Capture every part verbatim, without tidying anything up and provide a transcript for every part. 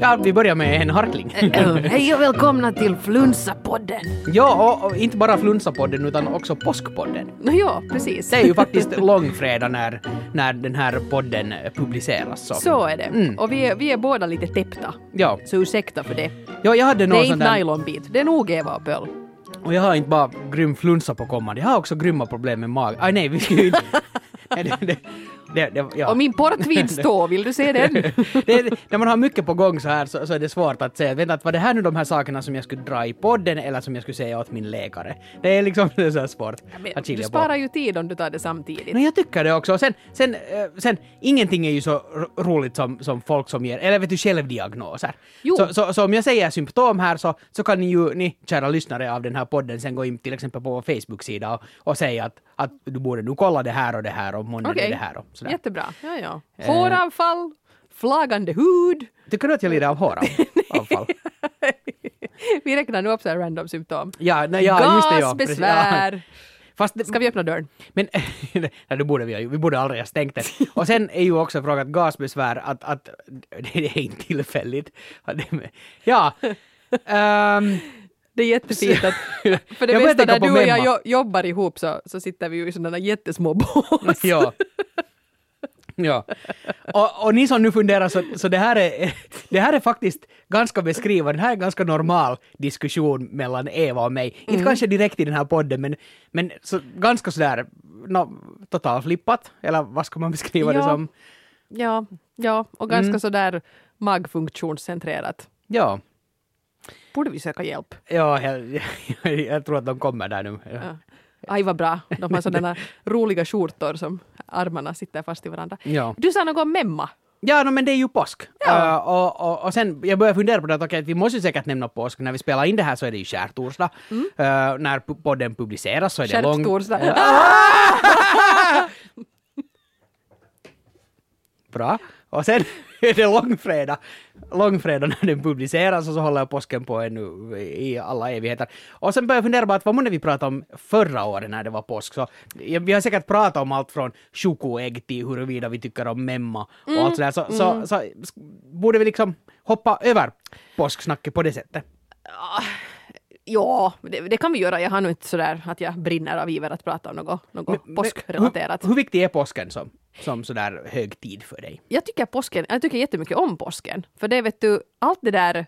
Ska vi börja med en harkling? Hej och välkomna till Flunsa-podden. Ja, och, och inte bara Flunsa-podden utan också Påskpodden. No, ja, precis. Det är ju faktiskt långfredag när, när den här podden publiceras. Så, så är det. Mm. Och vi är, vi är båda lite täppta. Ja. Så ursäkta för det. Ja, jag hade Det någon är sån inte där... nylonbit. Det är nog Eva och Pöl. Och jag har inte bara grym flunsa på kommande. Jag har också grymma problem med mag. Aj nej, vi ska ju inte... det, det, det, det, ja. Och min portvinstå, vill du se den? det, när man har mycket på gång så här så, så är det svårt att säga, vänta, var det här nu de här sakerna som jag skulle dra i podden eller som jag skulle säga åt min läkare? Det är liksom det är så här svårt Men, att skilja du sparar på. ju tid om du tar det samtidigt. Men jag tycker det också. Och sen, sen, äh, sen ingenting är ju så ro- roligt som, som folk som ger, eller vet du, självdiagnoser. Så, så, så om jag säger symptom här så, så kan ni ju, ni kära lyssnare av den här podden, sen gå in till exempel på vår Facebook-sida och, och säga att, att du borde nu kolla det här och det här och måndag Okej, det här och sådär. Jättebra. Ja, ja. Håravfall, flagande hud. Tycker du att jag lider av håravfall? Vi räknar nu upp så här random symptom. Ja, nej, ja, just det, ja. Gasbesvär. Ja. Fast det, Ska vi öppna dörren? Men nej, det borde vi ju. Vi borde aldrig ha stängt det. Och sen är ju också frågan gasbesvär att, att det är inte tillfälligt. Ja. Um, det är jättefint att för det jag mesta där du och jag memma. jo- jobbar ihop så, så sitter vi ju i sådana jättesmå bås. Ja. Ja. Och, och ni som nu funderar så, så det här är det här är faktiskt ganska beskrivande. Det här är en ganska normal diskussion mellan Eva och mig. Mm. Inte kanske direkt i den här podden men, men så, ganska sådär no, totalflippat. Eller vad ska man beskriva ja. det som? Ja, ja, och ganska Mm. sådär magfunktionscentrerat. Ja. Borde vi söka hjälp? Ja, jag, jag, jag tror att de kommer där nu. Ja. Ja. Aj vad bra. De har sådana roliga skjortor som armarna sitter fast i varandra. Ja. Du sa något om memma. Ja, no, men det är ju påsk. Ja. Uh, och, och, och sen, jag börjar fundera på det att, okay, att vi måste säkert nämna påsk. När vi spelar in det här så är det ju skärtorsdag. Mm. Uh, när p- podden publiceras så är det lång... Skärtorsdag. Bra. Och sen är det långfredag. Långfredag när den publiceras och så håller påsken på ännu i alla evigheter. Och sen börjar jag fundera på att vad måste vi prata om förra året när det var påsk. Så vi har säkert pratat om allt från chokoägg till huruvida vi tycker om memma och Mm. allt sådär. Så, Mm. så, så, så borde vi liksom hoppa över påsksnacket på det sättet. Ja, det, det kan vi göra. Jag har nog inte sådär att jag brinner av iver att prata om något, något Men- påskrelaterat. Hur, hur viktig är påsken som, som sådär högtid för dig? Jag tycker påsken, jag tycker jättemycket om påsken. För det vet du, allt det där,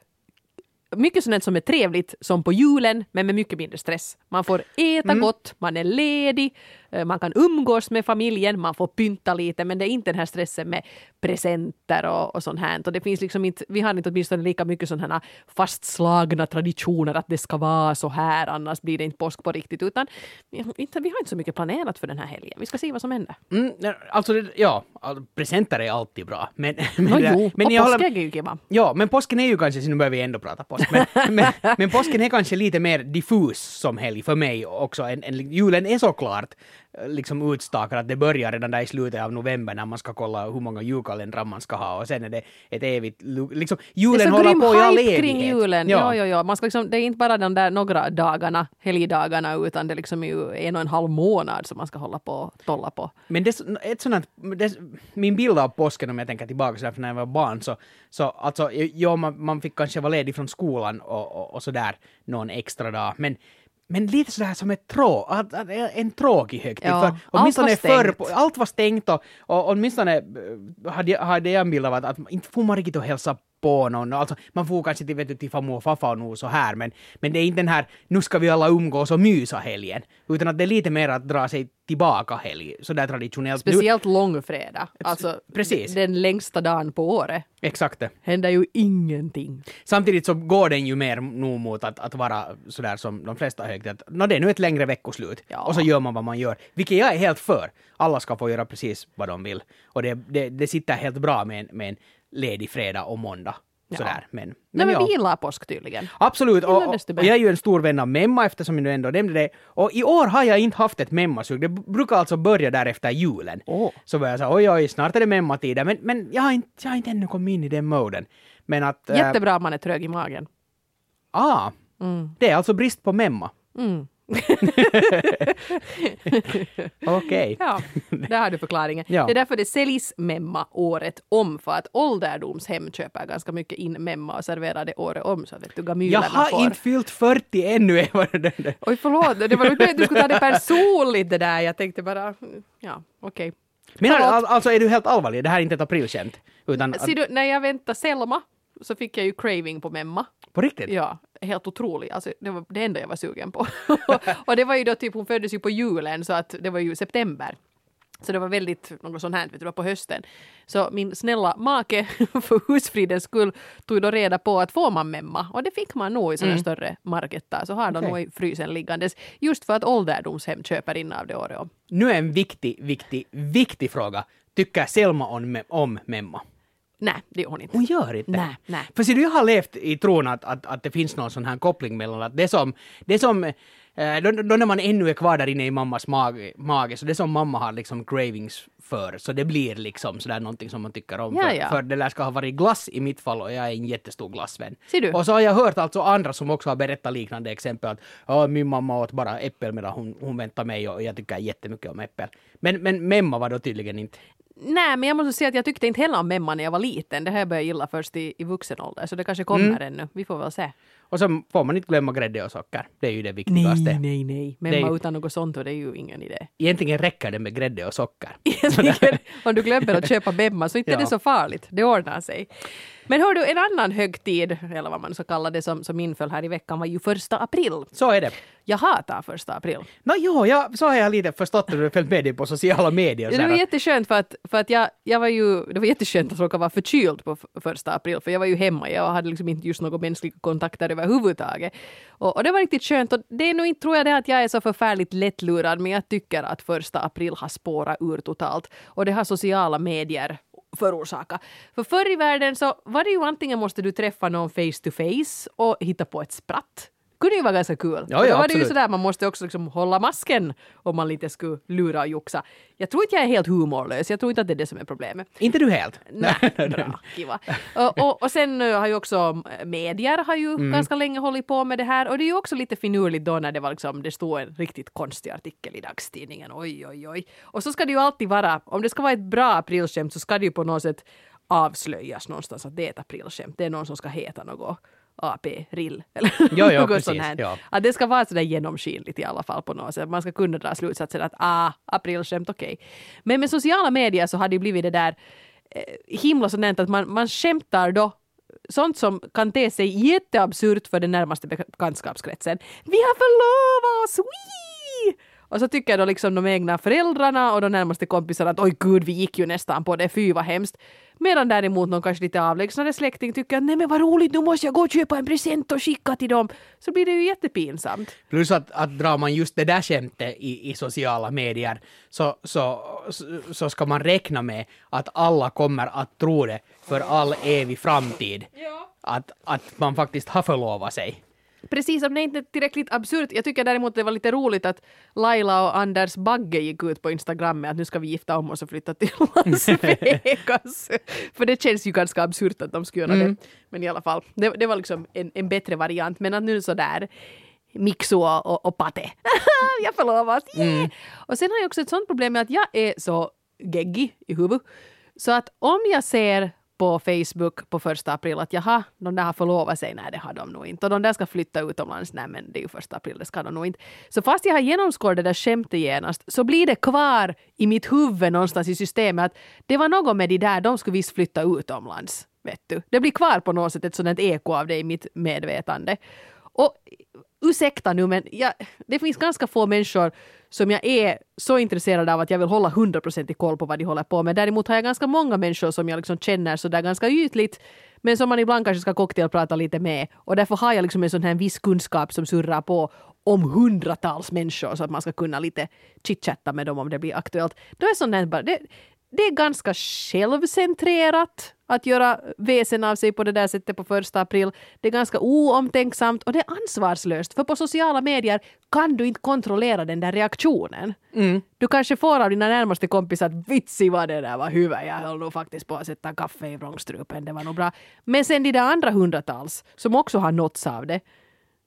mycket sånt som är trevligt som på julen, men med mycket mindre stress. Man får äta Mm. gott, man är ledig, eh, man kan umgås med familjen, man får pynta lite, men det är inte den här stressen med presenter och, och sånt här. Och det finns liksom inte, vi har inte åtminstone lika mycket sådana här fastslagna traditioner att det ska vara så här, annars blir det inte påsk på riktigt, utan inte, vi har inte så mycket planerat för den här helgen. Vi ska se vad som händer. Mm, alltså, det- ja, alltså, presenter är alltid bra. Men, men, No, jo, men och jag håller- påskägg är ju kiva. Ja, men påsken är ju kanske, så nu börjar vi ändå prata påsk, men, men, men påsken är kanske lite mer diffus som helg för mig också. En, en, julen är såklart liksom utstakad att det börjar redan där i slutet av november när man ska kolla hur många julkalendrar man ska ha och sen är det ett evigt, lu- liksom julen det är så håller grym på i all hype evighet. kring julen. Ja. Ja, ja, ja. Man ska liksom, det är inte bara de där några dagarna, helgdagarna, utan det är liksom ju en och en halv månad som man ska hålla på och tolla på. Men det, ett sånt, det, min bild av påsken, om jag tänker tillbaka så där, för när jag var barn, så, så alltså, ja, man, man fick kanske vara ledig från skolan och, och, och sådär någon extra dag, men Men lite sådär som ett trå, att, att, en tråkig högtid. Ja, för allt var åtminstone förr, stängt. allt var stängt och, och åtminstone eh, hade, jag- hade jag en bild av att, att inte får man riktigt att hälsa på någon. Alltså, man får kanske till, vet du, till farmor och farfar och nog så här, men, men det är inte den här nu ska vi alla umgås och mysa helgen, utan att det är lite mer att dra sig tillbaka helg, sådär traditionellt. Nu, Speciellt långfredag. Alltså Precis. den längsta dagen på året. exakt det. Händer ju ingenting. Samtidigt så går den ju mer nog mot att, att vara sådär som de flesta högtider. Att, nå, det är nu ett längre veckoslut. Ja. Och så gör man vad man gör. Vilket jag är helt för. Alla ska få göra precis vad de vill. Och det, det, det sitter helt bra med en, med en ledig fredag och måndag. Ja. Sådär. Men, Nej, men, men ja. vi gillar påsk tydligen. Absolut, och, Gillar och, desto och mer. jag är ju en stor vän av memma eftersom jag nu ändå nämnde det. Och i år har jag inte haft ett memmasug. Det brukar alltså börja där efter julen. Åh. Så börjar jag säga, oj oj, snart är det memmatiden. Men, men jag, har inte, jag har inte ännu kommit in i den moden. Men att... äh, Jättebra om man är trög i magen. ah, Mm. det är alltså brist på memma. Mm. Okej. Ja, där har du förklaringen. Ja. Det är därför det säljs memma året om, för att ålderdomshem köper ganska mycket in memma och serverar det året om, så vet du, Jag gamylerna har får. inte fyllt fyrtio ännu. Oj, förlåt, det var inte att du skulle ta det personligt det där. Jag tänkte bara, ja, okej. Okay. Men all, alltså är du helt allvarlig? Det här är inte ett aprilskämt. Utan att, Ser du, när jag väntade Selma så fick jag ju craving på memma. på riktigt? Ja, helt otroligt. Alltså, det var det enda jag var sugen på. Och det var ju då typ, hon föddes ju på julen, så att det var ju september. Så det var väldigt något sånt här, vet du, det var på hösten. Så min snälla make för husfridens skull tog då reda på att får man memma. Och det fick man nog i sådana mm. större marketar. Så har de okay. nog i frysen liggandes. Just för att ålderdomshem köper in av det året om. Nu är en viktig, viktig, viktig fråga. Tycker Selma om, om memma? Nej, det gör hon inte. Hon gör inte? Nej, nej. För så du har levt i tron att, att, att det finns någon sån här koppling mellan att det som, det som eh, då, då när man ännu är kvar där inne i mammas mage, mage, så det som mamma har liksom cravings för, så det blir liksom sådär någonting som man tycker om. Ja, för, ja. för det där ska ha varit glass i mitt fall och jag är en jättestor glassvän. Ser du? Och så har jag hört alltså andra som också har berättat liknande exempel att oh, min mamma åt bara äppel medan hon, hon väntar mig och jag tycker jättemycket om äppel. Men, men memma var då tydligen inte. Nej, men jag måste säga att jag tyckte inte heller om memma när jag var liten. Det här började jag gilla först i, i vuxen ålder, så det kanske kommer mm. ännu. Vi får väl se. Och så får man inte glömma grädde och socker. Det är ju det viktigaste. Nej, nej, nej. Memma ju... utan något sånt, och det är ju ingen idé. Egentligen räcker det med grädde och socker. Egentligen, om du glömmer att köpa memma så inte ja. är det så farligt. Det ordnar sig. Men hör du, en annan högtid, eller vad man så kallar det, som, som inföll här i veckan var ju första april. Så är det. Jag hatar första april. No, jo, jag, så har jag lite förstått när du följt med dig på sociala medier. Ja, det var jätteskönt för att, för att jag, jag var ju, det var jätteskönt att råka vara förkyld på första april, för jag var ju hemma, jag hade liksom inte just några mänskliga kontakter överhuvudtaget. Och, och det var riktigt skönt, och det är nog inte, tror jag, det att jag är så förfärligt lättlurad, men jag tycker att första april har spårat ur totalt. Och det har sociala medier förorsaka. För förr i världen så var det ju antingen måste du träffa någon face to face och hitta på ett spratt. Det kunde ju vara ganska kul. Ja, ja, då var absolut. det ju sådär, man måste också liksom hålla masken om man lite skulle lura och juxa. Jag tror inte jag är helt humorlös. Jag tror inte att det är det som är problemet. Inte du helt? Nej, bra, kiva. Och, och, och sen har ju också medier har ju mm. ganska länge hållit på med det här. Och det är ju också lite finurligt då när det var liksom, det stod en riktigt konstig artikel i dagstidningen. Oj, oj, oj. Och så ska det ju alltid vara, om det ska vara ett bra aprilskämt så ska det ju på något sätt avslöjas någonstans att det är ett aprilskämt. Det är någon som ska heta något A P-rill eller jo, jo, något precis, sånt här. ja. Att det ska vara sådär genomskinligt i alla fall på något sätt. Man ska kunna dra slutsatsen att ah, aprilskämt, okej. Okay. Men med sociala medier så har det blivit det där eh, himla sådant att man, man skämtar då sånt som kan te sig jätteabsurt för den närmaste bekantskapskretsen. Vi har förlovat oss! Wee! Och så tycker då liksom de egna föräldrarna och de närmaste kompisarna att oj gud, vi gick ju nästan på det, fy vad hemskt. Medan däremot någon kanske lite avlägsnare släkting tycker att nej men vad roligt, nu måste jag gå och köpa en present och skicka till dem. Så blir det ju jättepinsamt. Plus att, att drar man just det där skämtet i, i sociala medier så, så, så ska man räkna med att alla kommer att tro det för all evig framtid. Ja. Att, att man faktiskt har förlovat sig. Precis, om det inte är tillräckligt absurt. Jag tycker däremot det var lite roligt att Laila och Anders Bagge gick ut på Instagram med att nu ska vi gifta om oss och flytta till Las Vegas. För det känns ju ganska absurt att de skulle göra mm. det. Men i alla fall, det, det var liksom en, en bättre variant. Men att nu så där Mixo och, och Pate. Jag förlovas. Yeah. Mm. Och sen har jag också ett sånt problem med att jag är så geggig i huvudet. Så att om jag ser på Facebook på första april att jaha, de där har förlovat sig, nej det har de nog inte. Och de där ska flytta utomlands, nej men det är ju första april, det ska de nog inte. Så fast jag har genomskådat det där skämtet genast så blir det kvar i mitt huvud någonstans i systemet att det var något med de där, de skulle visst flytta utomlands, vet du. Det blir kvar på något sätt ett sådant eko av det i mitt medvetande. Och ursäkta nu, men jag, det finns ganska få människor som jag är så intresserad av att jag vill hålla hundra procent i koll på vad de håller på med. Däremot har jag ganska många människor som jag liksom känner så där ganska ytligt, men som man ibland kanske ska cocktailprata lite med. Och därför har jag liksom en sån här viss kunskap som surrar på om hundratals människor så att man ska kunna lite chitchatta med dem om det blir aktuellt. Då är sånt här bara, det, det är ganska självcentrerat att göra väsen av sig på det där sättet på första april. Det är ganska oomtänksamt och det är ansvarslöst. För på sociala medier kan du inte kontrollera den där reaktionen. Mm. Du kanske får av dina närmaste kompisar att vitsi vad det där var huvud. Jag höll nog faktiskt på att sätta kaffe i vrångstrupen. Det var nog bra. Men sen de där andra hundratals som också har nåtts av det.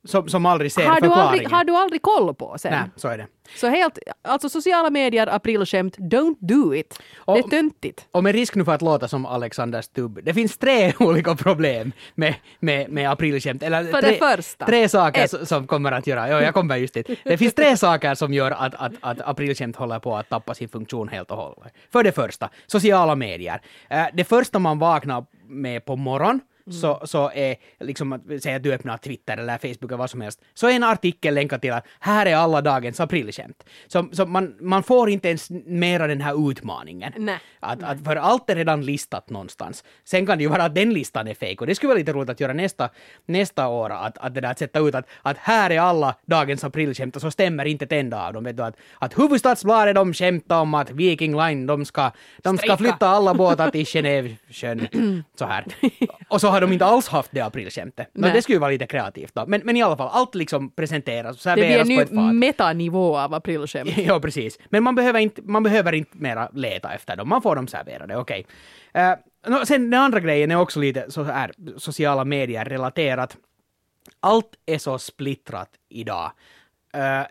som, som aldrig ser har, du förklaringen. aldrig, har du aldrig koll på sen? Nej, så är det. Så helt, alltså sociala medier, aprilskämt, don't do it. Och, det är töntigt. Och med risk nu för att låta som Alexander Stubb, det finns tre olika problem med, med, med aprilskämt. Eller För tre, det första. Tre saker Ett. som kommer att göra, ja, jag kommer just dit. Det finns tre saker som gör att, att, att aprilskämt håller på att tappa sin funktion helt och hållet. För det första, sociala medier. Det första man vaknar med på morgon, Mm. Så, så är liksom att säga att du öppnar Twitter eller Facebook eller vad som helst, så är en artikel länkad till att här är alla dagens aprilskämt. Så, så man, man får inte ens mera den här utmaningen. Nej. Att, Nej. att för allt är redan listat någonstans. Sen kan det ju vara att den listan är fake och det skulle vara lite roligt att göra nästa, nästa år att, att det där att sätta ut att, att här är alla dagens aprilskämt och så stämmer inte ett enda av dem. Vet du, att, att Hufvudstadsbladet de skämtar om att Viking Line de ska, de ska flytta alla båtar till Genève-sjön. Så här. Och så har de inte alls haft det aprilskämtet. No, det skulle ju vara lite kreativt då. Men, men i alla fall, allt liksom presenteras och serveras på ett fat. Det blir en ny metanivå av aprilskämt. Ja, precis. Men man behöver inte, man behöver inte mera leta efter dem. Man får dem serverade, okej. Okay. Uh, no, sen den andra grejen är också lite så här sociala medier relaterat. Allt är så splittrat idag. Uh,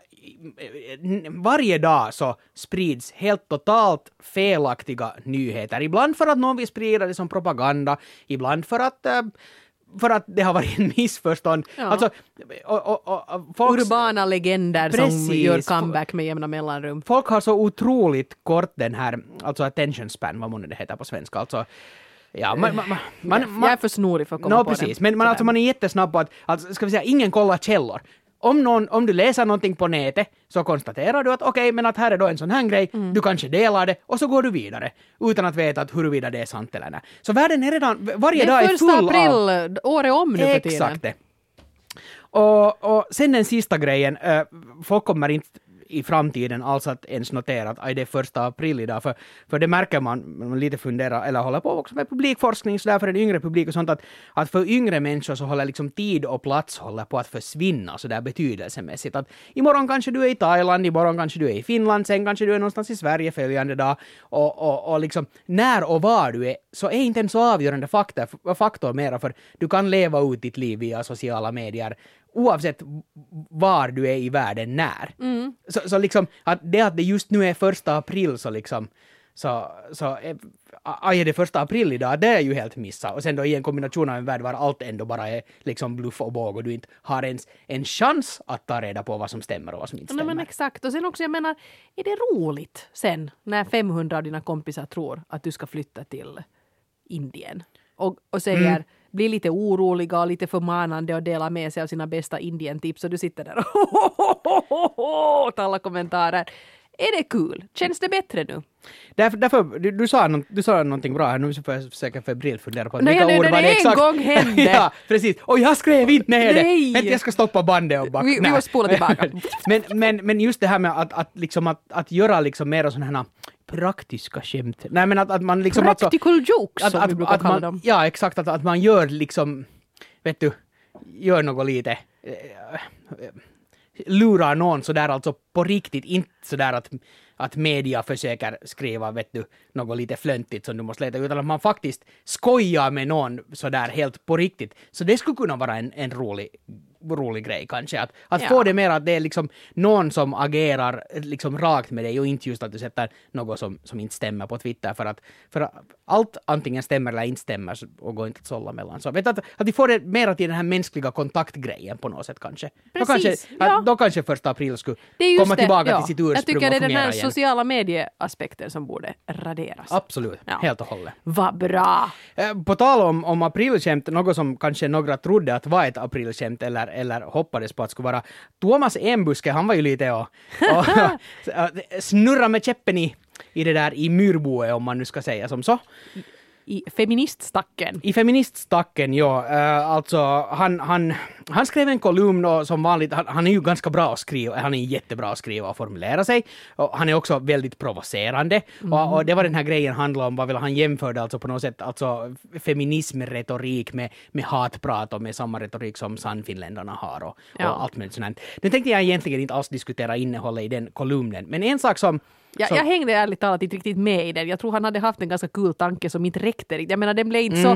varje dag så sprids helt totalt felaktiga nyheter. Ibland för att någon vill sprida det som propaganda, ibland för att uh, för att det har varit en missförstånd. Ja. Alltså, och, och, och, folks, urbana legender precis, som gör comeback med jämna mellanrum. Folk har så otroligt kort den här, alltså attention span, vad månne det heter på svenska. Alltså, ja, man, man, man, man, jag är för snorig för att komma no, på precis. det. Men man, alltså, man är jättesnabb på att, alltså, ska vi säga, ingen kollar källor. Om, någon, om du läser någonting på nätet så konstaterar du att okej, okay, men att här är då en sån här grej, mm. du kanske delar det och så går du vidare utan att veta att huruvida det är sant eller nej. Så världen är redan, varje dag är full av... Det är första april, året om nu för tiden. Exakt det. Och, och sen den sista grejen, äh, folk kommer inte i framtiden alls att ens notera att aj, det är första april idag, för, för det märker man, man lite funderar, eller håller på också med publikforskning så där för en yngre publik och sånt, att, att för yngre människor så håller liksom tid och plats håller på att försvinna så där betydelsemässigt, att imorgon kanske du är i Thailand, imorgon kanske du är i Finland, sen kanske du är någonstans i Sverige följande dag, och, och, och liksom när och var du är så är inte en så avgörande faktor, faktor mera, för du kan leva ut ditt liv via sociala medier oavsett var du är i världen när. Mm. Så, så liksom, att det att det just nu är första april så liksom, så, så aj, är det första april idag, det är ju helt missa. Och sen då i en kombination av en värld var allt ändå bara är liksom bluff och båg och du inte har ens en chans att ta reda på vad som stämmer och vad som inte stämmer. Nej, men exakt. Och sen också, jag menar, är det roligt sen när femhundra av dina kompisar tror att du ska flytta till Indien och, och säger mm. blir lite oroliga och lite förmanande och delar med sig av sina bästa Indien-tips och du sitter där och åt alla kommentarer. Är det kul? Känns det bättre nu? Därför, därför du, du, sa no, du sa någonting bra här, nu får jag försöka febrilt fundera på Nej, vilka ord var det en exakt. gång hände. Ja, precis. Och jag skrev inte ner det. Nej. Vänta, jag ska stoppa bandet och backa. Vi, vi måste spola tillbaka. men, men, men just det här med att, att, liksom att, att göra liksom mer sådana här praktiska skämt. Nej, men att, att man liksom... Practical alltså, jokes, att, som att, vi brukar att kalla man, dem. Ja, exakt. Att, att man gör liksom, vet du, gör något lite... Äh, lurar någon sådär alltså på riktigt, inte sådär att, att media försöker skriva, vet du, något lite flöntigt som du måste leta, utan att man faktiskt skojar med någon sådär helt på riktigt. Så det skulle kunna vara en, en rolig, rolig grej kanske, att, att ja. få det mer att det är liksom någon som agerar liksom rakt med dig och inte just att du sätter något som, som inte stämmer på Twitter, för att, för att allt antingen stämmer eller inte stämmer och går inte att sålla mellan. Så vet att, att vi får det mer till den här mänskliga kontaktgrejen på något sätt kanske. Precis, då kanske, ja. att, då kanske första april skulle komma det, tillbaka ja. till sitt ursprung och Jag tycker det är den här igen. sociala medieaspekten som borde raderas. Absolut, ja. helt och hållet. Vad bra! På tal om, om aprilskämt, något som kanske några trodde att var ett aprilskämt eller, eller hoppades på att skulle vara. Thomas Enbuske, han var ju lite och, och snurra med käppen i, i det där i myrboet, om man nu ska säga som så. I feministstacken. I feministstacken, ja. Uh, alltså, han, han, han skrev en kolumn och som vanligt, han, han är ju ganska bra att skriva, han är jättebra att skriva och formulera sig. Och han är också väldigt provocerande. Mm. Och, och det var den här grejen handlade om, vad vill han jämförde alltså på något sätt, alltså feminismretorik med, med hatprat och med samma retorik som sannfinländarna har och, ja. och allt möjligt sånt. Nu tänkte jag egentligen inte alls diskutera innehållet i den kolumnen, men en sak som Ja, så. Jag hängde ärligt talat inte riktigt med i den. Jag tror han hade haft en ganska kul tanke som inte räckte. Jag menar, den blev inte mm. så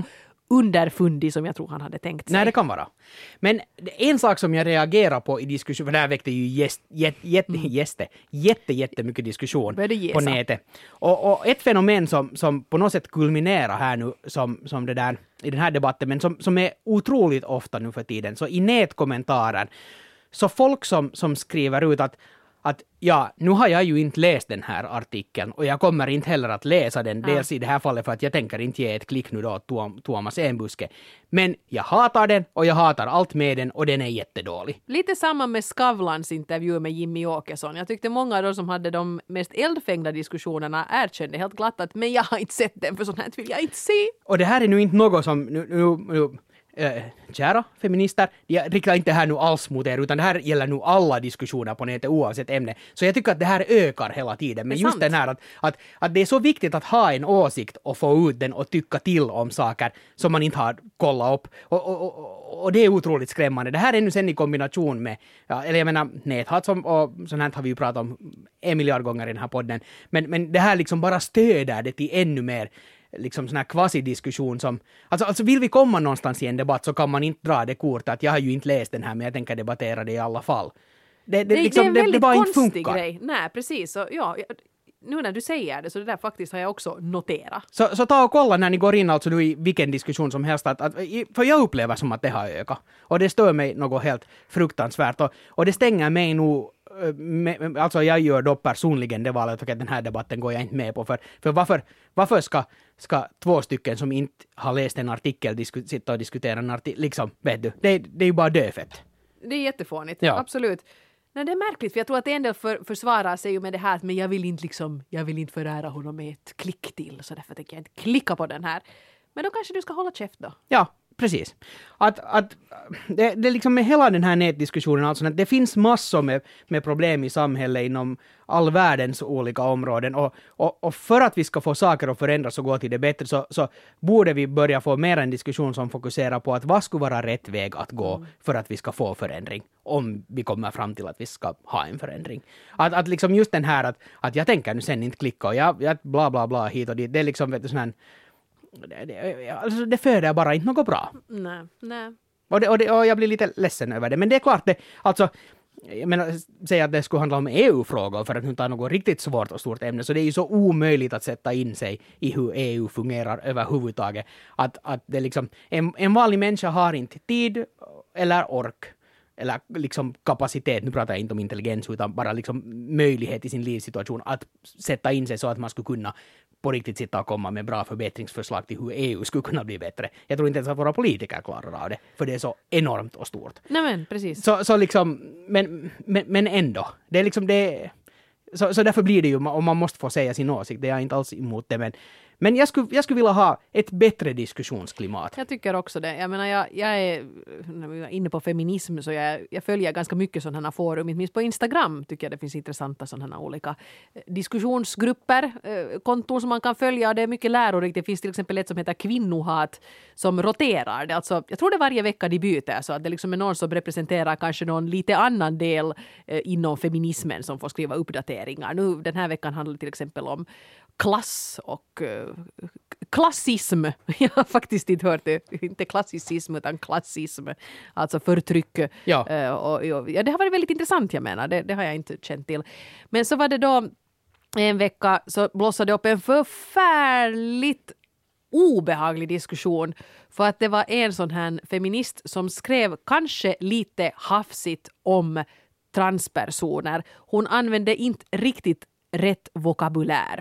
underfundig som jag tror han hade tänkt sig. Nej, det kan vara. Men en sak som jag reagerar på i diskussion, för det här väckte ju jäst, jätte, jätte, mm. jätte, jätte, jättemycket diskussion på nätet. Och, och ett fenomen som, som på något sätt kulminerar här nu som, som det där, i den här debatten, men som, som är otroligt ofta nu för tiden, så i nätkommentarer, så folk som, som skriver ut att att ja, nu har jag ju inte läst den här artikeln och jag kommer inte heller att läsa den, ja. Dels i det här fallet för att jag tänker inte ge ett klick nu då Tuom, Tuomas Enbuske. Men jag hatar den och jag hatar allt med den och den är jättedålig. Lite samma med Skavlans intervju med Jimmy Åkesson. Jag tyckte många av de som hade de mest eldfängda diskussionerna erkände helt glatt att men jag har inte sett den för sånt här vill jag inte se. Och det här är nu inte något som nu, nu, nu Äh, kära feminister, jag riktar inte här nu alls mot er, utan det här gäller nu alla diskussioner på nätet oavsett ämne. Så jag tycker att det här ökar hela tiden. Men just sant. Den här att, att, att det är så viktigt att ha en åsikt och få ut den och tycka till om saker som man inte har kollat upp. Och, och, och, och det är otroligt skrämmande. Det här är nu sen i kombination med, ja, eller jag menar näthat som, och sånt här har vi ju pratat om en miljard gånger i den här podden. Men, men det här liksom bara stöder det till ännu mer liksom sån här quasi-diskussion som, alltså, alltså vill vi komma någonstans i en debatt så kan man inte dra det kort att jag har ju inte läst den här men jag tänker debattera det i alla fall. Det, det, det, liksom, det är en väldigt det, det konstig grej. Nej, precis. Så, ja, nu när du säger det så det där faktiskt har jag också noterat. Så, så ta och kolla när ni går in alltså nu i vilken diskussion som helst att, att, för jag upplever som att det har ökat och det stör mig något helt fruktansvärt och, och det stänger mig nog med, alltså jag gör då personligen det valet att den här debatten går jag inte med på för, för varför, varför ska, ska två stycken som inte har läst en artikel disku, sitta och diskutera en artikel, liksom, vet du, det, det är ju bara döfett. Det är jättefånigt, ja. Absolut. Nej, det är märkligt för jag tror att en del för, försvarar sig ju med det här men jag vill inte liksom, jag vill inte förära honom med ett klick till så därför tänker jag inte klicka på den här. Men då kanske du ska hålla käft då. Ja. Precis. Att, att det, det liksom med hela den här nätdiskussionen, alltså att det finns massor med, med problem i samhället inom all världens olika områden och, och, och för att vi ska få saker att förändras och gå till det bättre så, så borde vi börja få mer en diskussion som fokuserar på att vad skulle vara rätt väg att gå mm. för att vi ska få förändring om vi kommer fram till att vi ska ha en förändring. Att, att liksom just den här att, att jag tänker nu sen inte klicka och jag, jag bla bla bla hit och dit, det är liksom vet du, sån här Det, det, alltså det föder bara inte något bra. Nej, nej. Och, det, och, det, och jag blir lite ledsen över det. Men det är klart, det, alltså, jag menar, säga att det skulle handla om E U-frågor för att nu ta något riktigt svårt och stort ämne. Så det är ju så omöjligt att sätta in sig i hur E U fungerar överhuvudtaget. Att, att det liksom, en, en vanlig människa har inte tid eller ork eller liksom kapacitet, nu pratar jag inte om intelligens utan bara liksom möjlighet i sin livssituation att sätta in sig så att man skulle kunna på riktigt sitta och komma med bra förbättringsförslag till hur E U skulle kunna bli bättre. Jag tror inte ens att våra politiker klarar av det, för det är så enormt och stort. Nej men, precis. Så, så liksom, men, men, men ändå, det är liksom det, så, så därför blir det ju, och man måste få säga sin åsikt, det är jag inte alls emot det, men Men jag skulle, jag skulle vilja ha ett bättre diskussionsklimat. Jag tycker också det. Jag menar, jag, jag är när vi är inne på feminism så jag, jag följer ganska mycket sådana forum. Inte minst på Instagram tycker jag det finns intressanta sådana olika diskussionsgrupper, konton som man kan följa. Det är mycket lärorikt. Det finns till exempel ett som heter Kvinnohat som roterar. Det är alltså, jag tror det är varje vecka de byter så att det liksom är någon som representerar kanske någon lite annan del eh, inom feminismen som får skriva uppdateringar. Nu den här veckan handlar det till exempel om klass och uh, klassism. Jag har faktiskt inte hört det. Inte klassicism utan klassism. Alltså förtryck. Ja. Uh, och, och, ja, det har varit väldigt intressant, jag menar. Det, det har jag inte känt till. Men så var det då en vecka så blossade upp en förfärligt obehaglig diskussion för att det var en sån här feminist som skrev kanske lite hafsigt om transpersoner. Hon använde inte riktigt rätt vokabulär.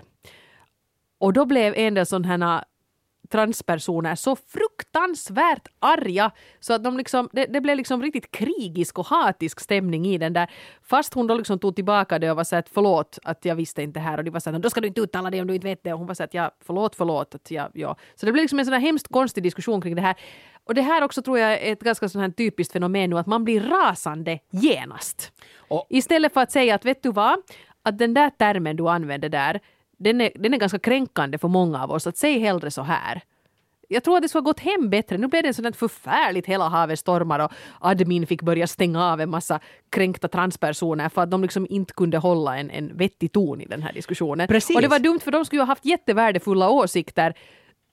Och då blev en del sådana här transpersoner så fruktansvärt arga så att de liksom, det, det blev liksom riktigt krigisk och hatisk stämning i den där. Fast hon då liksom tog tillbaka det och var så att förlåt att jag visste inte här och de var så att då ska du inte uttala det om du inte vet det. Och hon var så att ja, förlåt, förlåt. Att ja, ja. Så det blev liksom en sån här hemskt konstig diskussion kring det här. Och det här också tror jag är ett ganska sån här typiskt fenomen nu att man blir rasande genast. Och istället för att säga att vet du vad, att den där termen du använder där Den är, den är ganska kränkande för många av oss. Att säga hellre så här. Jag tror att det skulle ha gått hem bättre. Nu blev det en sån förfärligt hela havet stormar och admin fick börja stänga av en massa kränkta transpersoner för att de liksom inte kunde hålla en, en vettig ton i den här diskussionen. Precis. Och det var dumt för de skulle ju ha haft jättevärdefulla åsikter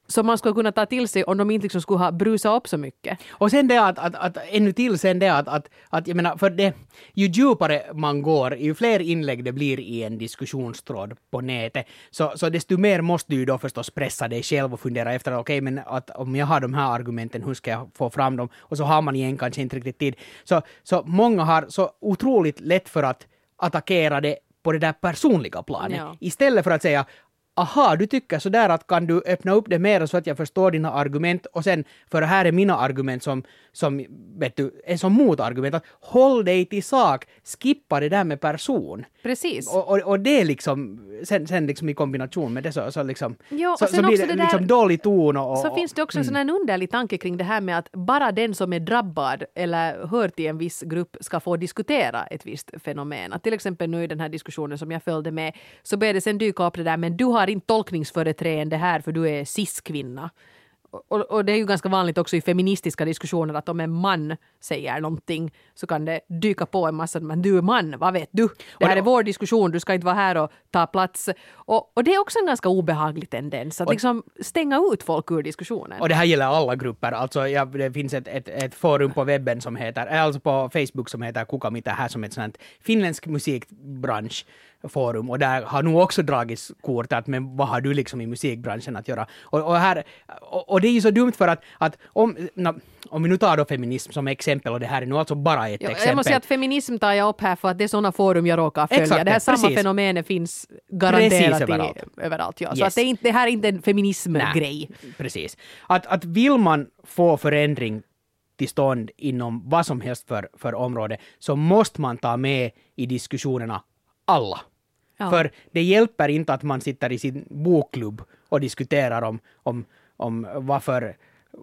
som man skulle kunna ta till sig om de inte liksom skulle ha brusat upp så mycket. Och sen det att, att, att ännu till sen det att, att, att jag menar, för det, ju djupare man går, ju fler inlägg det blir i en diskussionstråd på nätet, så, så desto mer måste du då förstås pressa dig själv och fundera efter, okej, okay, men att om jag har de här argumenten, hur ska jag få fram dem? Och så har man igen kanske inte riktigt tid. Så, så många har så otroligt lätt för att attackera det på det där personliga planet. Ja. Istället för att säga, aha, du tycker så där att kan du öppna upp det mer så att jag förstår dina argument och sen, för det här är mina argument som, som vet du, är som motargument. Att håll dig till sak, skippa det där med person. Precis. Och, och, och det är liksom, sen, sen liksom i kombination med det så, så liksom, Jo, så, och sen så blir också det, det där- liksom dålig ton och... Så och, finns det också en sån här underlig tanke kring det här med att bara den som är drabbad eller hör till en viss grupp ska få diskutera ett visst fenomen. Att till exempel nu i den här diskussionen som jag följde med så började det sen dyka upp det där, men du har inte tolkningsföreträdande här för du är cis-kvinna. Och, och det är ju ganska vanligt också i feministiska diskussioner att om en man säger någonting så kan det dyka på en massa, men du är man, vad vet du? Det här är vår diskussion, du ska inte vara här och ta plats. Och, och det är också en ganska obehaglig tendens att och, liksom stänga ut folk ur diskussionen. Och det här gäller alla grupper. Alltså, ja, det finns ett, ett, ett forum på webben som heter, alltså på Facebook som heter Kuka Mitä här, som ett sånt finländsk musikbransch forum, och där har nog också dragits kort att men vad har du liksom i musikbranschen att göra? Och, och, här, och, och det är ju så dumt för att, att om, na, om vi nu tar då feminism som exempel, och det här är nu alltså bara ett Jo, exempel. jag måste säga att feminism tar jag upp här för att det är sådana forum jag råkar följa. Exakt, det här samma precis. fenomenet finns garanterat Precis överallt. i, överallt. Ja. Så Yes. att det, är inte, det här är inte en feminismgrej. Nej, precis. Att, att vill man få förändring till stånd inom vad som helst för, för område, så måste man ta med i diskussionerna alla. Ja. För det hjälper inte att man sitter i sin bokklubb och diskuterar om, om, om varför,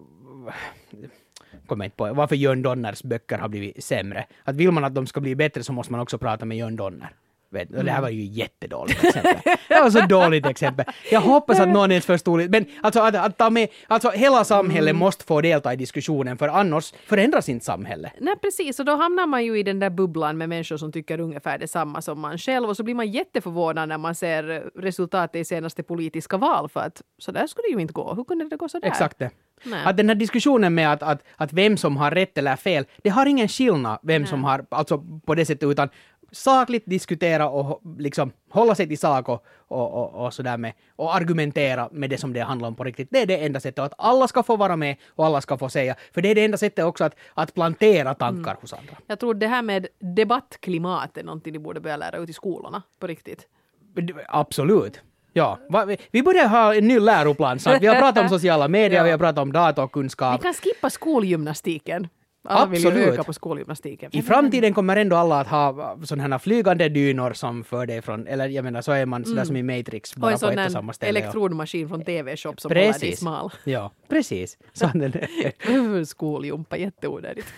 kommer inte på, varför Jörn Donners böcker har blivit sämre. Att vill man att de ska bli bättre så måste man också prata med Jörn Donner. Vet, och det här var ju jättedåligt exempel. Det var så dåligt exempel. Jag hoppas att någon ens förstod det. Men alltså att, att ta med, alltså hela samhället måste få delta i diskussionen, för annars förändras inte samhället. Nej, precis. Och då hamnar man ju i den där bubblan med människor som tycker ungefär detsamma som man själv. Och så blir man jätteförvånad när man ser resultatet i senaste politiska val. För att så där skulle det ju inte gå. Hur kunde det gå så där? Exakt det. Nej. Att den här diskussionen med att, att, att vem som har rätt eller fel, det har ingen skillnad vem som har, alltså på det sättet, utan sakligt diskutera och liksom hålla sig till sak och, och, och, och sådär med, och argumentera med det som det handlar om på riktigt. Det är det enda sättet, att alla ska få vara med och alla ska få säga. För det är det enda sättet också att, att plantera tankar mm. hos andra. Jag tror det här med debattklimat är någonting de borde börja lära ut i skolorna på riktigt. Absolut. Ja, va, vi, vi börjar ha en ny läroplan. Så vi har pratat om sociala medier, ja. Vi har pratat om datorkunskap. Vi kan skippa skolgymnastiken. Alla vill ju Absolut. öka på skolgymnastiken. I framtiden kommer ändå alla att ha sådana här flygande dynor som för dig från, eller jag menar så är man sådär mm. som i Matrix, bara på ett och samma ställe. Och en sån elektrodmaskin från T V-shop som precis. håller dig smal. Ja, precis. Så den Skoljumpa, jätteonödigt.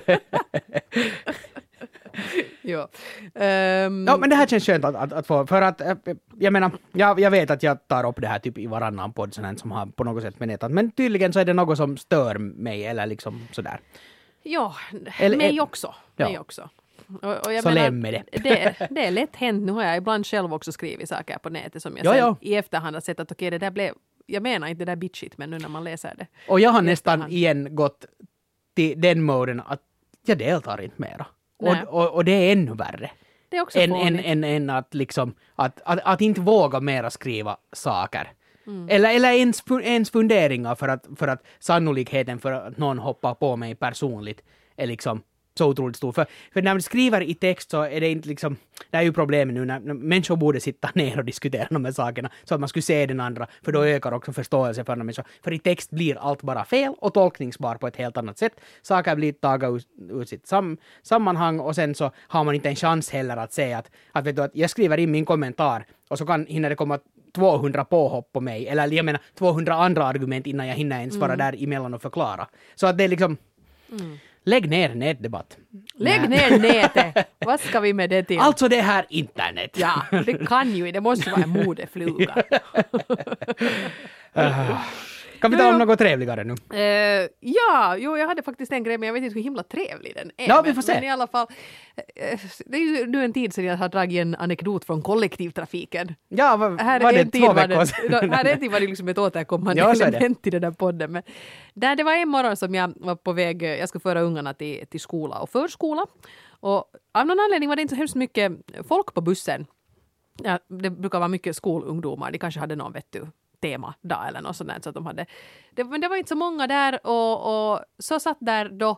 Ja. Um, ja, men det här känns skönt att, att, att få, för att jag menar, jag, jag vet att jag tar upp det här typ i varannan podd sån här, som har på något sätt med nätet, men tydligen så är det något som stör mig eller liksom sådär. Ja, eller, mig också. Ja. Mig också. Och, och jag så menar, läm med det. det. Det är lätt hänt. Nu har jag ibland själv också skrivit saker på nätet som jag jo, sen jo. i efterhand har sett att okej, okay, det där blev, jag menar inte det där bitchigt, men nu när man läser det. Och jag har nästan igen gått till den moden att jag deltar inte mera. Och, och, och det är ännu värre. Det är också än, än, än, än att liksom, att, att, att inte våga mera skriva saker. Mm. Eller, eller ens, ens funderingar för att, för att sannolikheten för att någon hoppar på mig personligt är liksom så otroligt stor. För, för när man skriver i text så är det inte liksom, det är ju problemet nu när, när människor borde sitta ner och diskutera de här sakerna så att man skulle se den andra, för då ökar också förståelse för andra människor. För i text blir allt bara fel och tolkningsbar på ett helt annat sätt. Saker blir tagna ur, ur sitt sam, sammanhang och sen så har man inte en chans heller att säga att, att, vet du, att jag skriver in min kommentar och så kan hinner det komma tvåhundra påhopp på mig, eller jag menar tvåhundra andra argument innan jag hinner ens vara mm. där emellan och förklara. Så att det är liksom mm. lägg ner nätdebatt. Lägg ner nätet. Vad ska vi med det till? Alltså det här internet. Ja, det kan ju. Det måste vara en modefluga. uh, Kan vi ta om något trevligare nu? Uh, ja, jo, jag hade faktiskt en grej, men jag vet inte hur himla trevlig den är. Ja, vi får se. Men i alla fall, uh, det är ju nu en tid sedan jag har dragit en anekdot från kollektivtrafiken. Ja, vad, här var det en tid två var veckor sedan? Här är en tid var det liksom ett återkommande ja, element i den där podden. Men där det var en morgon som jag var på väg, jag skulle föra ungarna till, till skola och förskola. Och av någon anledning var det inte så hemskt mycket folk på bussen. Ja, det brukar vara mycket skolungdomar, de kanske hade någon, vet du, temadag eller något sånt där, så att de hade det, men det var inte så många där och, och så satt där då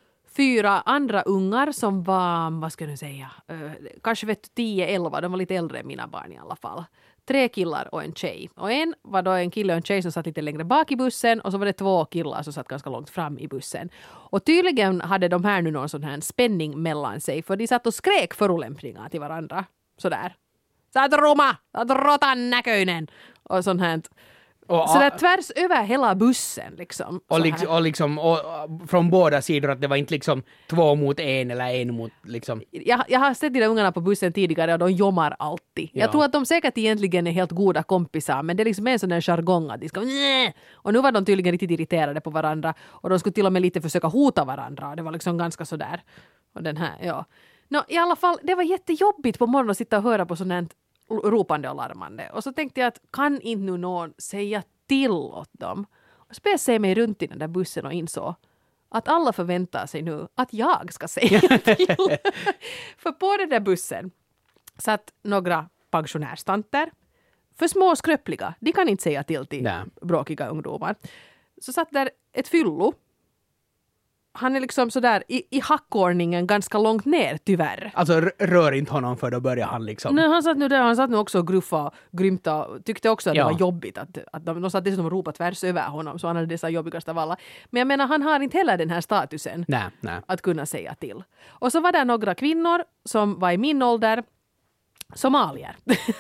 fyra andra ungar som var, vad ska jag nu säga, uh, kanske vet du, tio elva, de var lite äldre än mina barn i alla fall. Tre killar och en tjej. Och en var då en kille och en tjej som satt lite längre bak i bussen och så var det två killar som satt ganska långt fram i bussen. Och tydligen hade de här nu någon sån här spänning mellan sig, för de satt och skrek förolämpningar till varandra. Sådär. Sä oot ruma, sä oot rotan näköinen. Och sånt här. Och, så där tvärs över hela bussen liksom. Och, liksom, och liksom och, och, från båda sidor, att det var inte liksom två mot en eller en mot liksom. Jag, jag har sett de där ungarna på bussen tidigare och de jommar alltid. Ja. Jag tror att de säkert egentligen är helt goda kompisar, men det är liksom en sån där jargong att de ska Nä! Och nu var de tydligen riktigt irriterade på varandra och de skulle till och med lite försöka hota varandra och det var liksom ganska sådär. Och den här, ja. No, i alla fall, det var jättejobbigt på morgonen att sitta och höra på sånt här ropande och larmande. Och så tänkte jag att kan inte nu någon säga till åt dem? Och så började jag se mig runt i den där bussen och insåg att alla förväntar sig nu att jag ska säga till. För på den där bussen satt några pensionärstanter. För små och skröpliga. De kan inte säga till till Nej. bråkiga ungdomar. Så satt där ett fyllo. Han är liksom sådär i, i hackordningen ganska långt ner, tyvärr. Alltså rör inte honom för då börjar han liksom. Nej, han satt nu där, han satt nu också och gruffa och grymta och tyckte också att ja. det var jobbigt att, att de, de satt dessutom och ropade tvärs över honom, så han hade dessa jobbigast av alla. Men jag menar, han har inte heller den här statusen nej, nej. att kunna säga till. Och så var det några kvinnor som var i min ålder, somalier.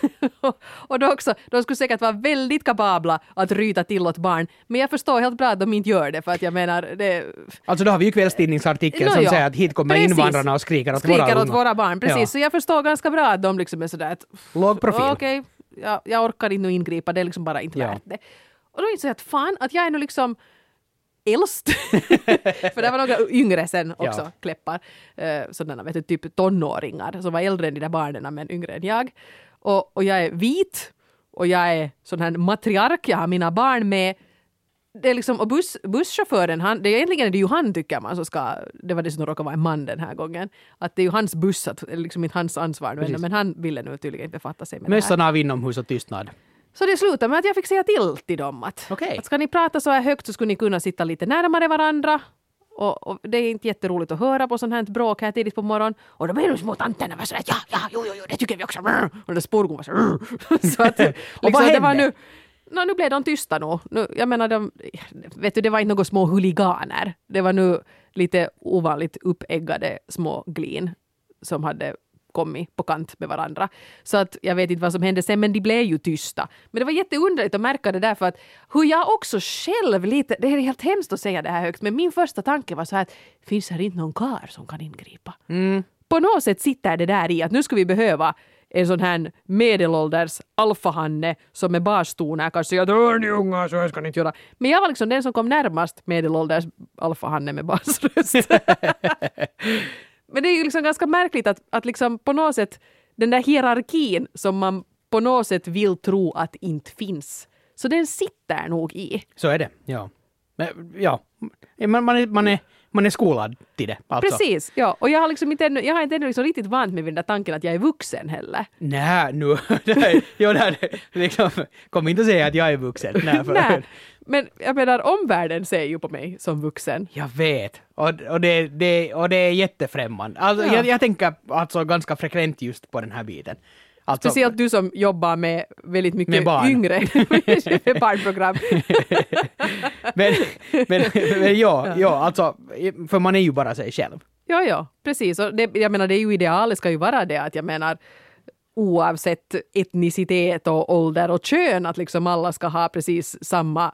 Och då också, de skulle säkert vara väldigt kapabla att ryta till åt barn. Men jag förstår helt bra att de inte gör det, för att jag menar det... Alltså då har vi ju kvällstidningsartikeln no, som ja. säger att hit kommer precis. invandrarna och skriker åt skriker våra åt våra barn. Precis, ja. så jag förstår ganska bra att de liksom är sådär att... Låg profil. Okej, okay, jag, jag orkar inte ingripa, det är liksom bara inte ja. värt det. Och då insåg jag att fan, att jag är nu liksom äldst. För det var några yngre sen också, ja. Kläppar. Uh, sådana, vet du, typ tonåringar som var äldre än de där barnen men yngre än jag. Och, och jag är vit och jag är sån här matriark, jag har mina barn med. Det är liksom, och buss, busschauffören, han, det är egentligen det är ju han tycker man så ska, det var det som råkade vara en man den här gången, att det är ju hans buss, att, liksom inte hans ansvar nu, men han ville nu tydligen inte befatta sig med Mössan det här. av inomhus och tystnad. Så det slutade med att jag fick säga till till dem att, okay. att ska ni prata så här högt så skulle ni kunna sitta lite närmare varandra. Och, och det är inte jätteroligt att höra på sånt här bråk här tidigt på morgonen. Och då blir de små tanterna var så att ja, ja, jo, jo, jo, det tycker vi också. Och det spårgon var så så att liksom, och vad hände? Det var nu, no, nu blev de tysta nu. nu. Jag menar, de, vet du, det var inte några små huliganer. Det var nu lite ovanligt uppeggade små glin som hade kommit på kant med varandra. Så att jag vet inte vad som hände sen, men de blev ju tysta. Men det var jätteunderligt att märka det där, för att hur jag också själv lite, det är helt hemskt att säga det här högt, men min första tanke var så här att finns här inte någon kar som kan ingripa? Mm. På något sätt sitter det där i att nu ska vi behöva en sån här medelålders alfahanne som är barstoner kan säga att hör ni unga, så här ska ni inte göra. Men jag var liksom den som kom närmast medelålders alfahanne med basröst. Men det är ju liksom ganska märkligt att, att liksom på något sätt den där hierarkin som man på något sätt vill tro att inte finns. Så den sitter nog i. Så är det, ja. Men, ja. Man, man, är, man, är, man är skolad till det. Alltså. Precis, ja. Och jag har liksom inte ännu, jag har inte ännu liksom riktigt vant med den där tanken att jag är vuxen heller. Nej, nu. Jo, det liksom, kom inte att säga att jag är vuxen. Nej, för, Nej. Men jag menar, omvärlden ser ju på mig som vuxen. Jag vet. Och, och, det, det, och det är jättefrämmande. Alltså, ja. jag, jag tänker alltså ganska frekvent just på den här biten. Alltså, speciellt du som jobbar med väldigt mycket med barn. Yngre med barnprogram. men, men, men ja, ja, ja, alltså, för man är ju bara sig själv. Ja, ja, precis. Och det, jag menar, det är ju idealet ska ju vara det att jag menar oavsett etnicitet och ålder och kön att liksom alla ska ha precis samma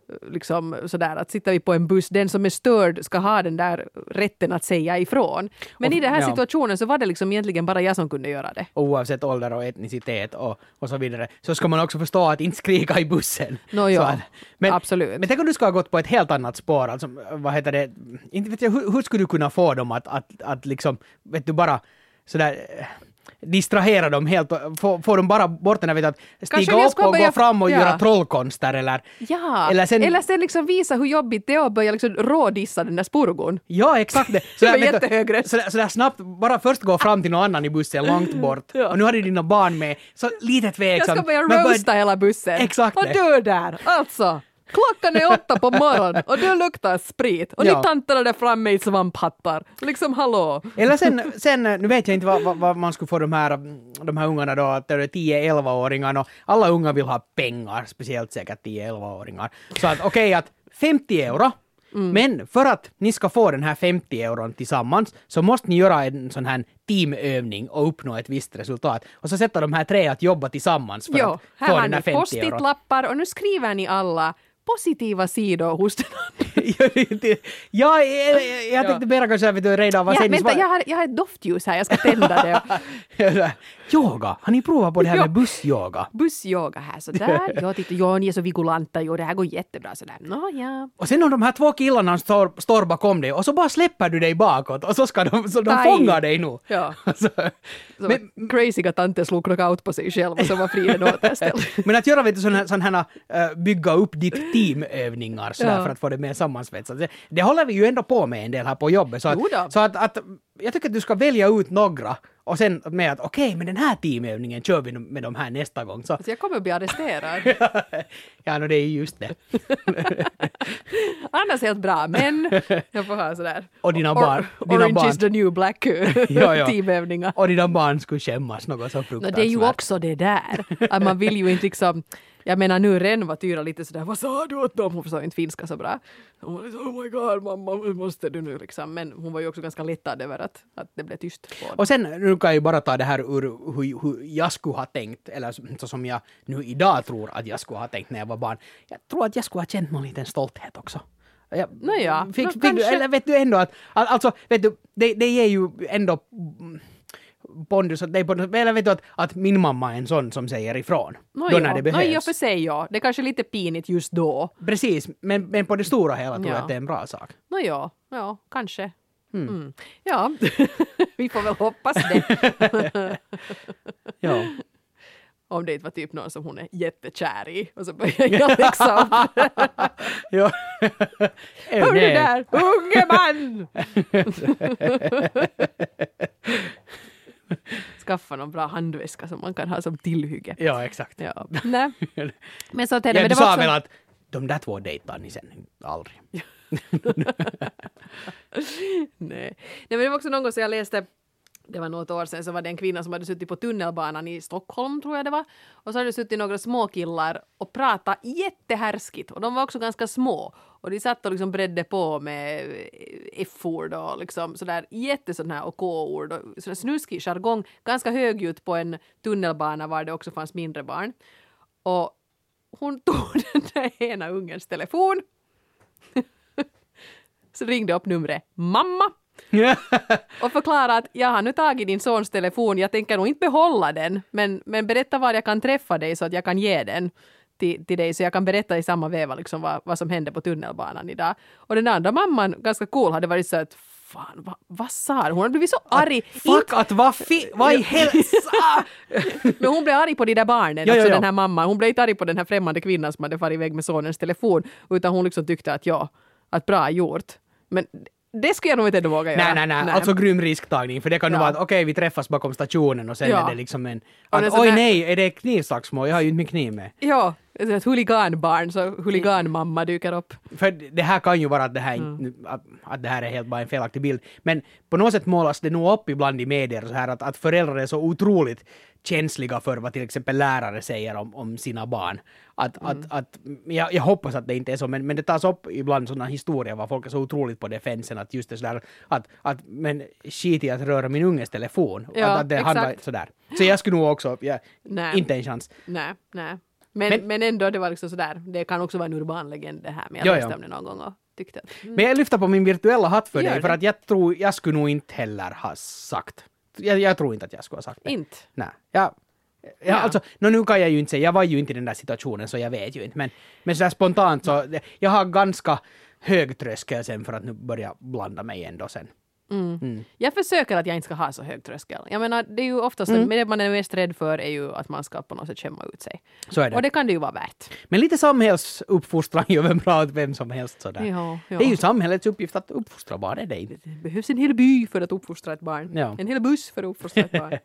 liksom sådär att sitter vi på en buss, den som är störd ska ha den där rätten att säga ifrån. Men och, i den här ja. situationen så var det liksom egentligen bara jag som kunde göra det. Oavsett ålder och etnicitet och, och så vidare. Så ska man också förstå att inte skrika i bussen. No, ja, att, men, absolut. Men tänk om du ska ha gått på ett helt annat spår. Alltså, vad heter det? Inte vet jag, hur, hur skulle du kunna få dem att, att, att liksom, vet du, bara sådär distrahera dem helt och få, få dem bara bort när vet att stiga upp och börja, gå fram och ja. göra trollkonster eller... Ja, eller sen, eller sen liksom visa hur jobbigt det är att börja liksom rådissa den där spurgon. Ja, exakt det. Så där, jättehögre. Så där, så där snabbt, bara först gå fram till någon annan i bussen långt bort. Ja. Och nu har du dina barn med. Så lite tveksamt. Jag ska börja roasta börja... hela bussen. Exakt och det. du där, alltså. Klockan är åtta på morgonen och du luktar sprit. Och ja. ni tanterna där framme i svamphattar. Liksom hallå. Eller sen, sen nu vet jag inte vad, vad, vad man skulle få de här, de här ungarna då, att det är tio elva-åringar och alla unga vill ha pengar, speciellt säkert tio elva-åringar. Så att okej okay, att femtio euro, mm. men för att ni ska få den här femtio euron tillsammans så måste ni göra en sån här teamövning och uppnå ett visst resultat. Och så sätter de här tre att jobba tillsammans för jo, att få den här femtio euron. Post-it-lappar och nu skriver ni alla positiva sidor hos den andra. ja, jag, jag, jag tänkte bara kanske att du redan var ja, sen. Vänta, jag har, jag har ett doftljus här, jag ska tända det. Yoga, har ni provat på det här med bussyoga? Bussyoga här, sådär. Jag tyckte, ja, ni är så vigulanta, jo, det här går jättebra, sådär. Nå, ja. Och sen om de här två killarna står, står bakom dig och så bara släpper du dig bakåt och så ska de, så de fångar dig nu. Ja. Alltså, men, crazyga tanter slog knockout på sig själv och så var friden återställd. Men att göra vet du, sån här, sån här uh, bygga upp ditt teamövningar så ja. För att få det mer sammansvetsat. Det, det håller vi ju ändå på med en del här på jobbet. Så att, så att, att jag tycker att du ska välja ut några och sen med att okej, okay, men den här teamövningen kör vi med de här nästa gång. Så, alltså jag kommer att bli arresterad. ja, no, det är just det. Annars helt bra, men jag får ha sådär. Och dina barn. Or, dina orange barn. is the new black ja, ja. teamövningar. Och dina barn skulle skämmas något så fruktansvärt. No, det är ju också det där. Att man vill ju inte liksom... Jag menar nu Ren var Tyra lite sådär, vad sa du åt dem? Hon förstår inte finska så bra. Hon var liksom, oh my god mamma, hur måste du nu liksom? Men hon var ju också ganska lättad över att, att det blev tyst på. Och sen, nu kan jag ju bara ta det här ur hur, hur jag skulle ha tänkt, eller så som jag nu idag tror att jag skulle ha tänkt när jag var barn. Jag tror att jag skulle ha känt någon liten stolthet också. Jag, Nåja, fick, no, fick, kanske... eller vet du ändå att, alltså, vet du, det, det ger ju ändå pondus, eller vet du att, att min mamma är en sån som säger ifrån. No, då ja. när det behövs. No, ja, för sig ja. Det är kanske lite pinigt just då. Precis, men, men på det stora hela tror jag ja. att det är en bra sak. No, ja, ja, kanske. Mm. Mm. Ja, vi får väl hoppas det. ja. Om det inte var typ någon som hon är jättekär i. Och så börjar jag läxa upp. ja. Hör du där, unge man! Skaffa någon bra handväska som man kan ha som tillhygge. Ja, exakt. Ja. Nej. Men så ja, men du det sa var också... väl att de där två dejtar ni sen aldrig. Nej. Nej, men det var också någon gång som jag läste, det var något år sedan, så var det en kvinna som hade suttit på tunnelbanan i Stockholm tror jag det var. Och så hade det suttit några små killar och pratat jättehärskigt. Och de var också ganska små. Och de satt och liksom bredde på med F-ord och liksom sådär jättesådana här och K-ord och sådär snuskig jargong. Ganska högljutt på en tunnelbana var det också fanns mindre barn. Och hon tog den där ena ungens telefon. Så ringde upp numret mamma. och förklara att jag har nu tagit din sons telefon, jag tänker nog inte behålla den, men, men berätta var jag kan träffa dig så att jag kan ge den till, till dig, så jag kan berätta i samma veva liksom vad, vad som hände på tunnelbanan idag. Och den andra mamman, ganska cool, hade varit så att fan, vad, vad sa hon? Hon hade blivit så arg. Att, fuck, inte... att vad fi... Vad i hälsa? Men hon blev arg på de där barnen, ja, också ja, ja. den här mamman. Hon blev inte arg på den här främmande kvinnan som hade farit iväg med sonens telefon, utan hon liksom tyckte att ja, att bra gjort. Men det skulle jag nog inte ändå våga göra. Nej, nej, nej. nej. Alltså grym risktagning. För det kan ju ja. vara att okej, okay, vi träffas bakom stationen och sen ja. är det liksom en... Att, oj där... nej, är det knivslagsmål? Jag har ju inte min kniv med. Ja, ett huliganbarn, så huliganmamma dyker upp. För det här kan ju vara att det här, mm. att, att det här är helt bara en felaktig bild. Men på något sätt målas det nog upp ibland i medier så här att, att föräldrar är så otroligt känsliga för vad till exempel lärare säger om, om sina barn. Att, mm. att, att, jag, jag hoppas att det inte är så, men, men det tas upp ibland sådana historier var folk är så otroligt på defensen att just det sådär att, att men skit i att röra min unges telefon. Ja, att, att det exakt. handlar sådär. Så jag skulle nog också, ja, inte en chans. Nej, nej. Men, Men- men ändå, det var liksom sådär. Det kan också vara en urban legend det här. Men jag Jo, läste jo. om det någon gång och tyckte att... Mm. Men jag lyfter på min virtuella hatt för Gör dig, för det. att jag tror, jag skulle nog inte heller ha sagt. Jag, jag tror inte att jag skulle ha sagt det. Inte. Nej. Jag, ja, Ja. alltså, no, nu kan jag ju inte säga, jag var ju inte i den där situationen så jag vet ju inte. Men, men sådär spontant så, jag har ganska hög tröskel sen för att nu börja blanda mig ändå sen. Mm. Jag försöker att jag inte ska ha så hög tröskel. Jag menar, det är ju oftast Mm. det man är mest rädd för är ju att man ska på något sätt skämma ut sig. Så är det. Och det kan det ju vara värt. Men lite samhällsuppfostran gör väl bra åt vem som helst sådär. Ja, ja. Det är ju samhällets uppgift att uppfostra barn, är det inte? Det behövs en hel by för att uppfostra ett barn. Ja. En hel buss för att uppfostra ett barn.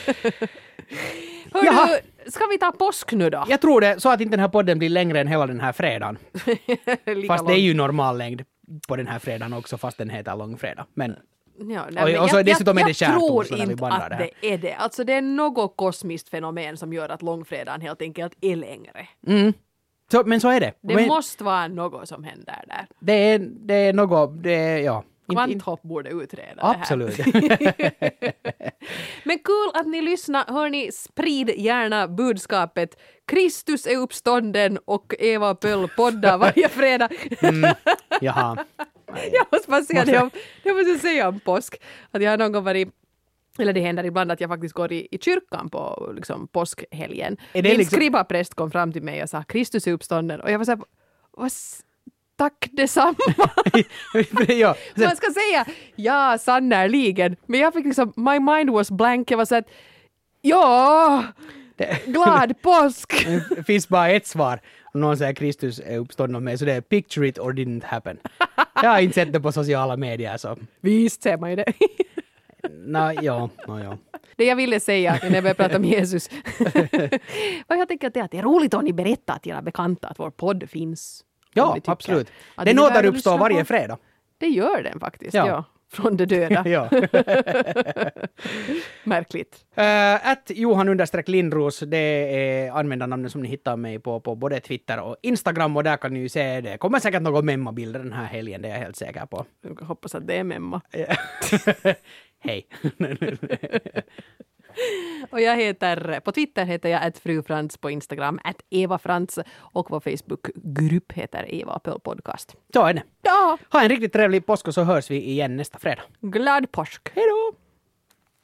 Jaha. Hör du, ska vi ta påsk nu då? Jag tror det, så att inte den här podden blir längre än hela den här fredagen. Lika Fast det är långt. ju normal längd på den här fredagen också, fast den heter långfredag. Men Ja, Och- men och så jag, dessutom är jag, det jag tror skärtorsdag när vi inte bandar att det här. det är det. Alltså det är något kosmiskt fenomen som gör att långfredagen helt enkelt är längre. Mm. Så, men så är det. Det men, måste vara något som händer där. det, är, det är något, det är, ja. Inte- inte- Kvanthopp borde utreda Absolut. det här. Men kul att ni lyssnar. Hörni, sprid gärna budskapet. Kristus är uppstånden och Eva Pöll poddar varje fredag. mm. Jaha. Jag måste bara säga det om, jag måste säga om påsk. Att jag har någon gång varit, eller det händer ibland att jag faktiskt går i, i kyrkan på liksom, påskhelgen. Är det Min liksom- skrivarpräst kom fram till mig och sa Kristus är uppstånden. Och jag var så här, vad s- tack detsamma. ja. Man ska säga ja, sannoliken. Men jag fick liksom, my mind was blank. Jag var så att ja, glad påsk. Det finns bara ett svar. Om någon säger Kristus är uppstånden av mig, så det är picture it or didn't happen. Jag har inte sett det på sociala medier, så Visst ser man ju det. no, ja, no, ja. Det jag ville säga när jag började prata om Jesus. Vad jag tänker att det är att det är roligt om ni berättar till era bekanta att vår podd finns. Om Ja, ni tycker att att Den är värd att återuppstår lyssna varje på. fredag. Det gör den faktiskt, Ja. ja. Från det döda. ja. Märkligt. Uh, att Johan understreck Lindros, det är användarnamnet som ni hittar mig på, på både Twitter och Instagram, och där kan ni ju se, det kommer säkert några memma-bilder den här helgen, det är jag helt säker på. Jag hoppas att det är memma. Hej. Och jag heter, på Twitter heter jag att frufrans, på Instagram att Eva Frans, och vår Facebookgrupp heter Eva Pöll Podcast. Så är det. Ja, Ha en riktigt trevlig påsk och så hörs vi igen nästa fredag. glad påsk! Hej då!